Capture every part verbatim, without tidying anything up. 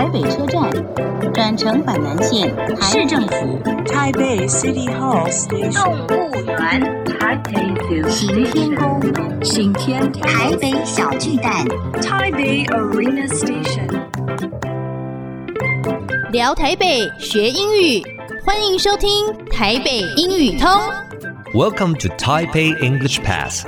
台北車站，轉乘板南線，市政府， 台北 City Hall Station， 動物園，台北行天宮，行天宮，台北小巨蛋， 台北 Arena Station。 聊台北學英語，歡迎收聽台北英語通。 Welcome to Taipei English Pass.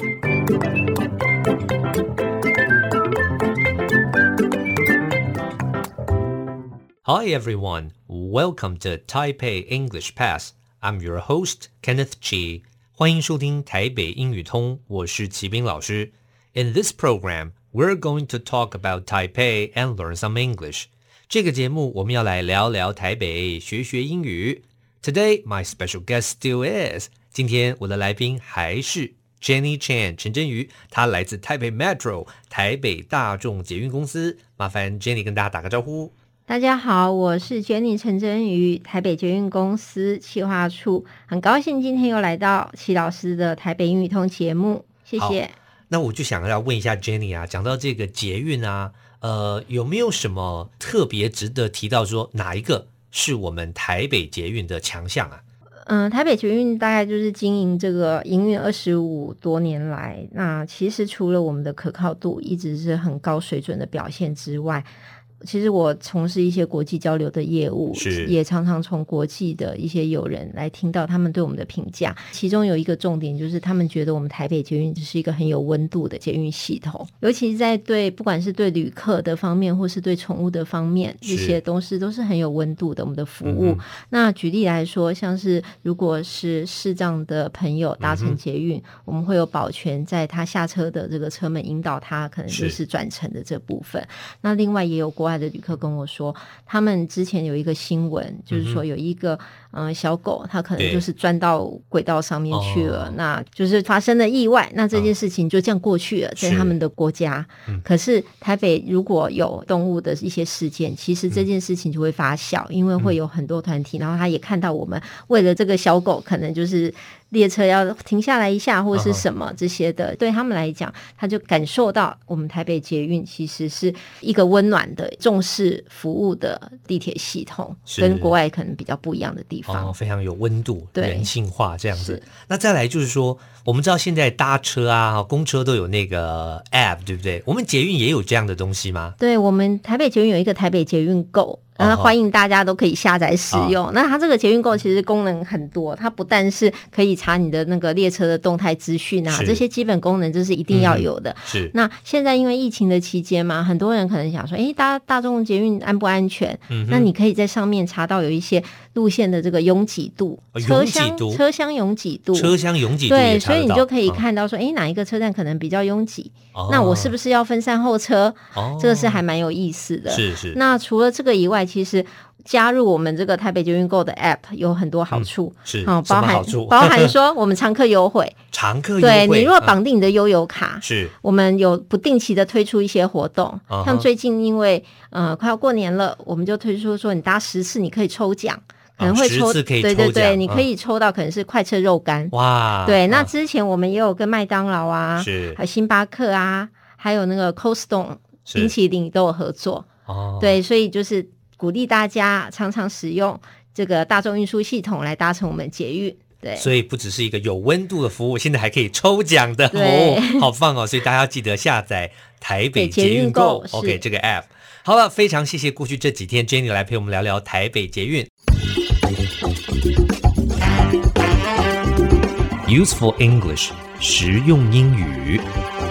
Hi everyone, welcome to Taipei English Pass. I'm your host, Kenneth Chi. 歡迎收聽台北英語通，我是齊斌老師。In this program, we're going to talk about Taipei and learn some English. 這個節目我們要來聊聊台北，學學英語。Today, my special guest still is. 今天我的來賓還是 Jenny Chan 陳真瑜，她來自台北 Metro 台北大眾捷運公司。麻煩 Jenny 跟大家打個招呼。 大家好，我是 Jenny 陳真瑜，台北捷運公司企劃處，很高興今天又來到齊老師的台北英語通節目，謝謝。 那我就想要問一下 Jenny 啊，講到這個捷運啊，呃，有沒有什麼特別值得提到說哪一個是我們台北捷運的強項啊？ 嗯、呃，台北捷運大概就是經營這個營運二十五多年來，那其實除了我們的可靠度一直是很高水準的表現之外，其實我從事一些國際交流的業務，也常常從國際的一些友人來聽到他們對我們的評價。其中有一個重點就是，他們覺得我們台北捷運是一個很有溫度的捷運系統，尤其是在對不管是對旅客的方面，或是對寵物的方面，這些東西都是很有溫度的。我們的服務，嗯、那舉例來說，像是如果是視障的朋友搭乘捷運，嗯、我們會有保全在他下車的這個車門引導他，可能就是轉乘的這部分。那另外也有過。國外的旅客跟我說，他們之前有一個新聞，就是說有一個嗯、呃、小狗，它可能就是鑽到軌道上面去了，那就是發生了意外，那這件事情就這樣過去了，在他們的國家。嗯、可是台北如果有動物的一些事件，其實這件事情就會發酵，嗯、因為會有很多團體，然後他也看到我們為了這個小狗，可能就是列車要停下來一下，或者是什麼這些的，uh-huh. 對他們來講，他就感受到我們台北捷運其實是一個溫暖的、重視服務的地鐵系統，跟國外可能比較不一樣的地方，哦、非常有溫度、人性化這樣子。那再來就是說，我們知道現在搭車啊、公車都有那個 App， 對不對？我們捷運也有這樣的東西嗎？對，我們台北捷運有一個台北捷運 Go。那歡迎大家都可以下載使用。Oh. 那它這個捷運 Go 其實功能很多，它不但是可以查你的那個列車的動態資訊啊，這些基本功能這是一定要有的。嗯、是。那現在因為疫情的期間嘛，很多人可能想說，誒，搭大眾捷運安不安全？嗯。那你可以在上面查到有一些路線的這個擁擠度，哦、車廂車廂擁擠度，車廂擁擠度。對，所以你就可以看到說，誒，哪一個車站可能比較擁擠？哦、那我是不是要分散候車？哦，這個是還蠻有意思的。是是。那除了這個以外，其實加入我們這個台北捷運 Go 的 App 有很多好處，嗯、是、嗯、包含包含說我們常客優惠，常客優惠，對，你如果綁定你的悠遊卡，是、嗯，我們有不定期的推出一些活動，像最近因為呃快要過年了，我們就推出說你搭十次你可以抽獎。可能會抽，哦、對對對，你可以抽到可能是快車肉乾哇。對，那之前我們也有跟麥當勞啊，是，還有星巴克啊，還有那個 Cold Stone 冰淇淋都有合作哦。對，所以就是鼓勵大家常常使用這個大眾運輸系統來搭乘我們捷運。對，所以不只是一個有溫度的服務，現在還可以抽獎的哦，好棒哦！所以大家要記得下載台北捷運 Go OK 這個 App。好了，非常謝謝過去這幾天 Jenny 來陪我們聊聊台北捷運。Useful English 實用英語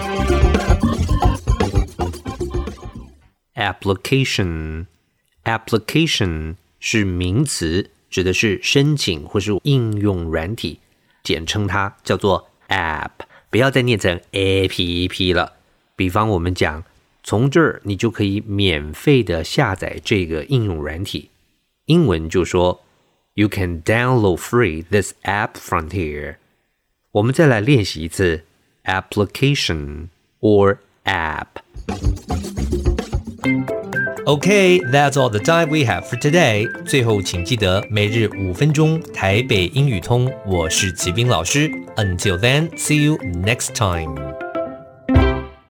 Application Application 是名詞，指的是申請或是應用軟體，簡稱它叫做 App， 不要再念成 A P P 了。比方我們講，從這兒你就可以免費的下載這個應用軟體，英文就說 You can download free this app from here。我們再來練習一次 application or app. Okay, that's all the time we have for today. 最後請記得每日五分鐘台北英語通，我是齊斌老師。Until then, see you next time.